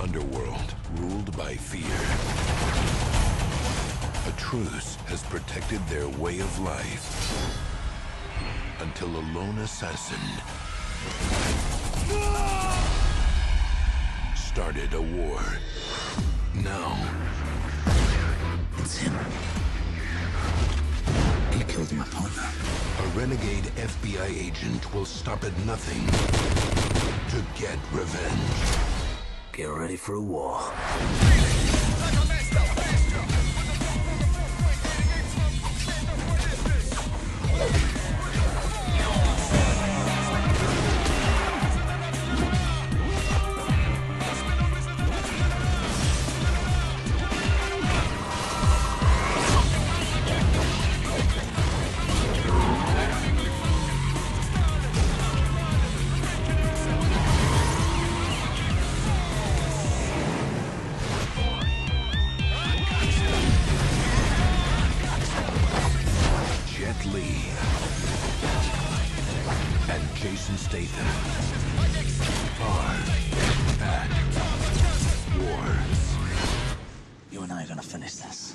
underworld ruled by fear. A truce has protected their way of life until a lone assassin started a war. Now, it's him. He killed my partner. A renegade FBI agent will stop at nothing to get revenge. Get ready for a war. Jet Li and Jason Statham are at war. You and I are gonna finish this.